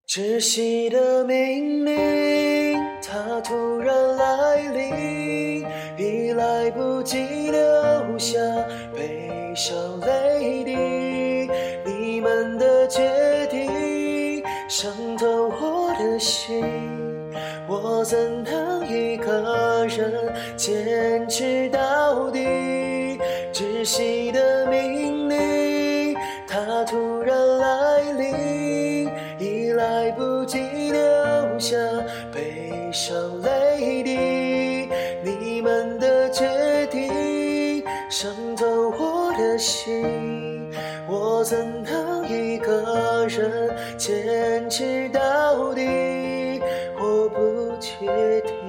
窒息的命令，它突然来临，已来不及留下悲伤泪滴。你们的决定伤透我的心，我怎能一个人坚持到底？窒息的命令，它突然来临，已来不及留下悲伤泪滴。你们的决定伤透我的心，我怎能一个人坚持到底？我不确定。